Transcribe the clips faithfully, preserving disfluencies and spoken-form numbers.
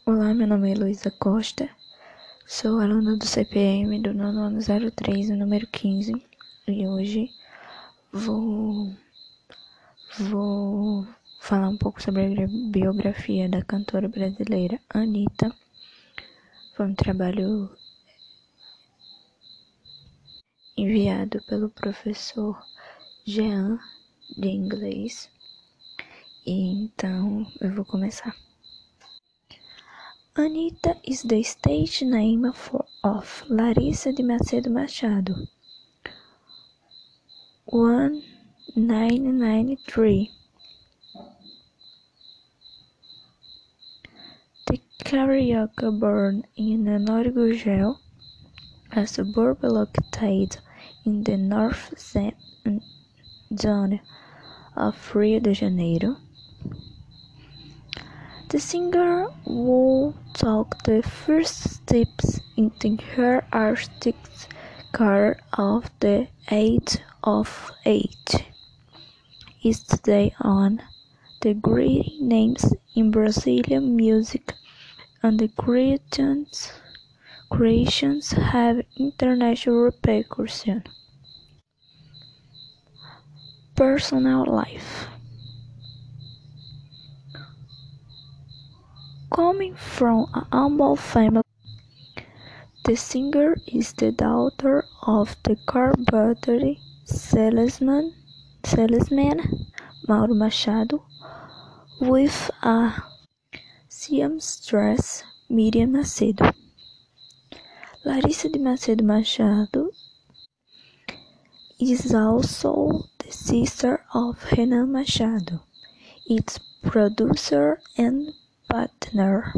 Olá, meu nome é Luísa Costa, sou aluna do C P M do nono ano zero três, número quinze, e hoje vou, vou falar um pouco sobre a biografia da cantora brasileira Anitta. Foi um trabalho enviado pelo professor Jean de inglês, e então eu vou começar. Anitta is the stage name for, of Larissa de Macedo Machado, one nine nine three. The carioca born in Norgugel, a suburb located in the north zone of Rio de Janeiro. The singer will take the first steps into her artistic career at the age of eight. Is today on the great names in Brazilian music, and the creations, creations have international repercussion. Personal life. Coming from a humble family, the singer is the daughter of the carpenter salesman, salesman Mauro Machado, with a seamstress, Miriam Macedo. Larissa de Macedo Machado is also the sister of Renan Machado, its producer and partner.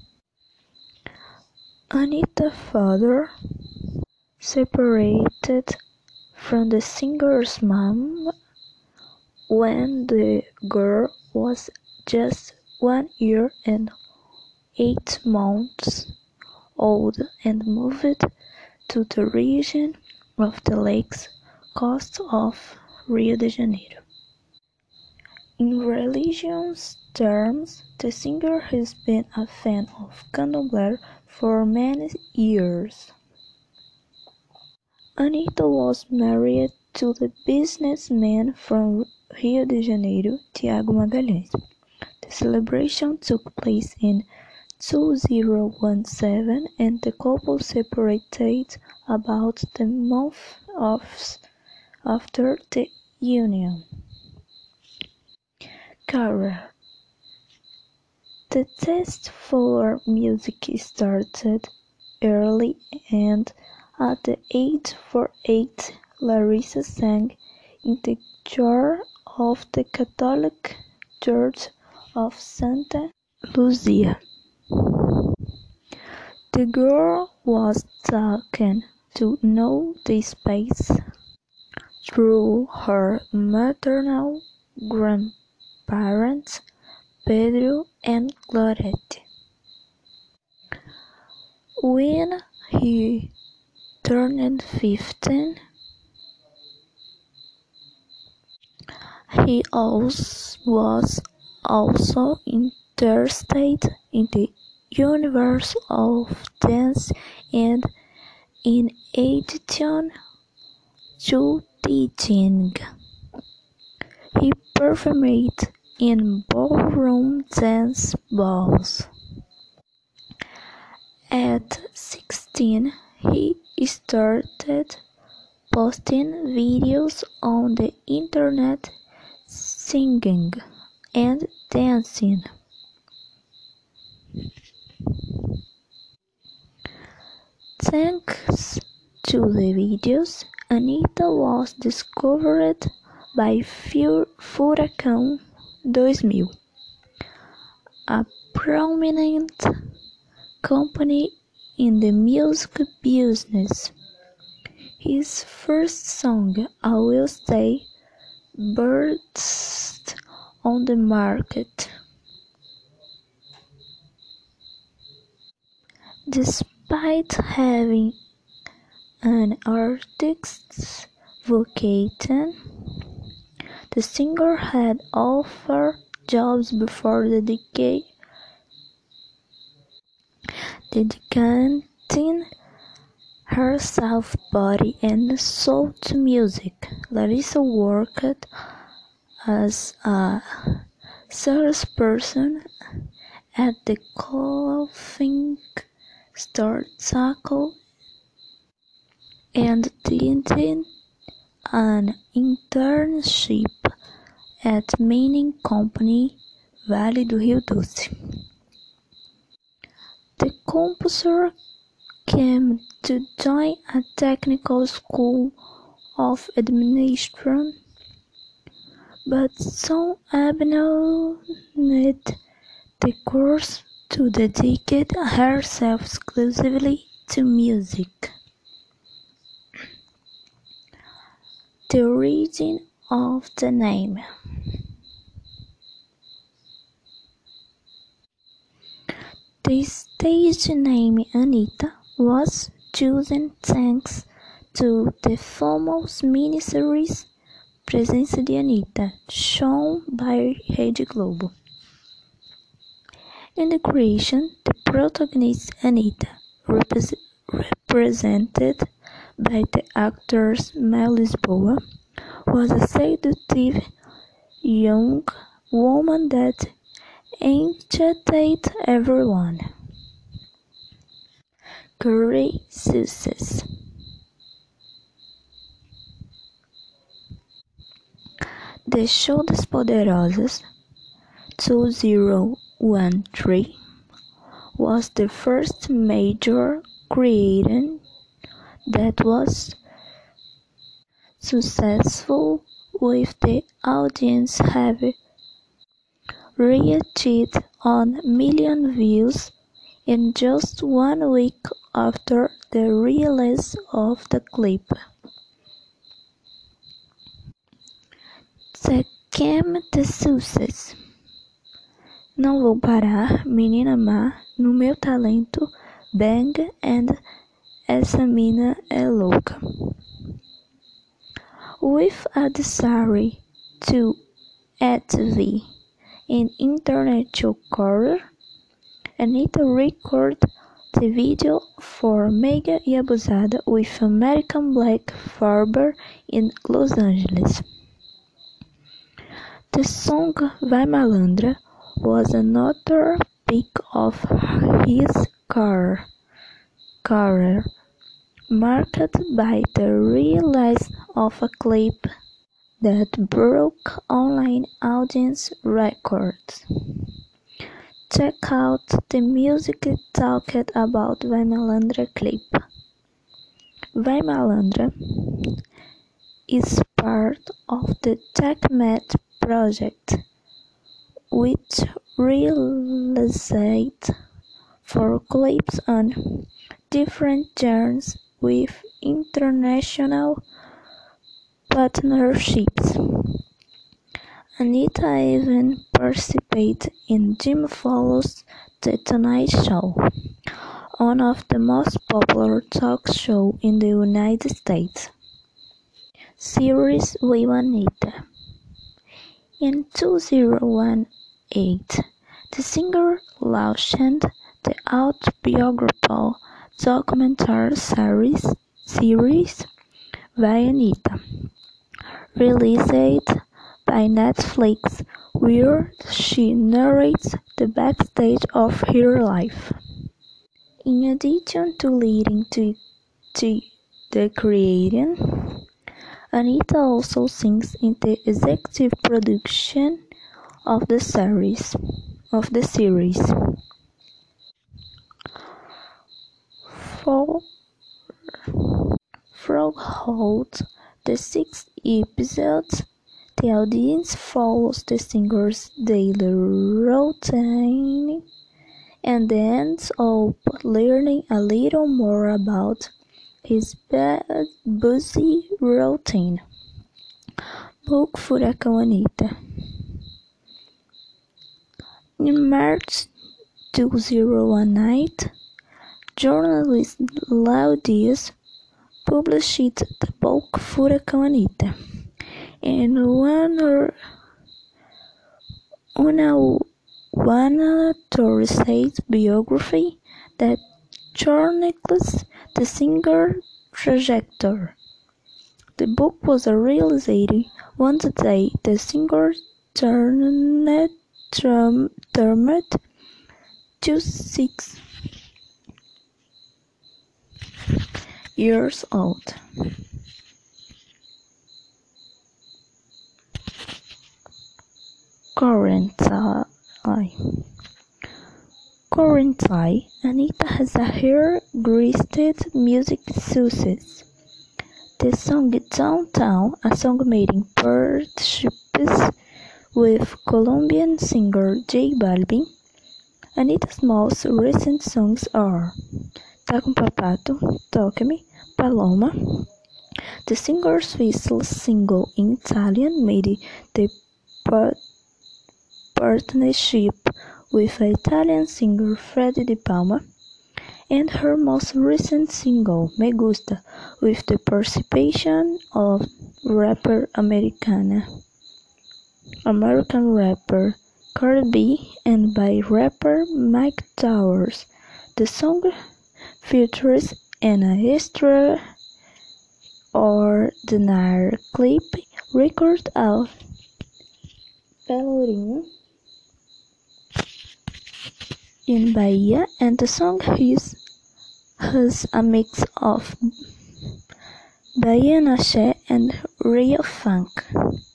Anitta's father separated from the singer's mom when the girl was just one year and eight months old and moved to the region of the lakes coast of Rio de Janeiro. In religious terms, the singer has been a fan of Candomblé for many years. Anitta was married to the businessman from Rio de Janeiro, Tiago Magalhães. The celebration took place in two thousand seventeen, and the couple separated about a month after the union. Career. The taste for music started early, and at the age of eight, Larissa sang in the choir of the Catholic Church of Santa Luzia. The girl was taken to know the space through her maternal grandparents, Pedro and Glorete. When he turned fifteen, he was also interested in the universe of dance, and in addition to teaching, he performed in ballroom dance balls. At sixteen, he started posting videos on the internet singing and dancing. Thanks to the videos, Anitta was discovered by Furacão two mil, a prominent company in the music business. His first song, I Will Stay, burst on the market. Despite having an artist's vocation, the singer had offered jobs before the decade dedicating herself body and soul to music. Larissa worked as a salesperson at the clothing store Taco and did an internship at mining company Vale do Rio Doce. The composer came to join a technical school of administration, but soon abandoned the course to dedicate herself exclusively to music. The origin of the name. The stage name Anitta was chosen thanks to the famous miniseries Presença de Anitta, shown by Rede Globo. In the creation, the protagonist Anitta, repre- represented by the actress Mel Lisboa, was a seductive young woman that enchanted everyone. Career success. The show Das Poderosas two thousand thirteen was the first major creation that was successful, with the audience having reached one million views in just one week after the release of the clip. Second the success. Não vou parar, menina má, no meu talento, bang and essa mina é louca. With a desire to achieve an international career, Anitta recorded the video for Mega e Abusada with American Black Barber in Los Angeles. The song Vai Malandra was another peak of his career, marked by the release of a clip that broke online audience records. Check out the music talked about Vai Malandra clip. Vai Malandra is part of the TechMed project, which released four clips on different genres with international partnerships. Anitta even participated in Jimmy Fallon's The Tonight Show, one of the most popular talk shows in the United States. Series with Anitta. In two thousand eight, the singer launched the autobiographical documentary series, series Vai Anitta, released by Netflix, where she narrates the backstage of her life. In addition to leading to, to the creation, Anitta also sings in the executive production of the series. Of the series. For throughout the six episodes, the audience follows the singer's daily routine and ends up learning a little more about his busy routine. Book Furacão Anitta. In March two thousand nine, journalist Léo Dias published the book Furacão Anitta, and one una one authorized biography that chronicles the singer's trajectory. The book was a reality. One day, the singer turned twenty-six years old. Currently, currently, Anitta has a her-greased music success. The song "Downtown", a song made in partnership with Colombian singer J Balvin. Anitta's most recent songs are Tá com Papato, Toca-me, Paloma. The singer's first single in Italian made the partnership with Italian singer Freddie De Palma, and her most recent single, Me Gusta, with the participation of rapper Americana, American rapper Cardi B and by rapper Mike Towers. The song features an extraordinary clip recorded at Pelourinho in Bahia, and the song is, has a mix of Bahian axé and real funk.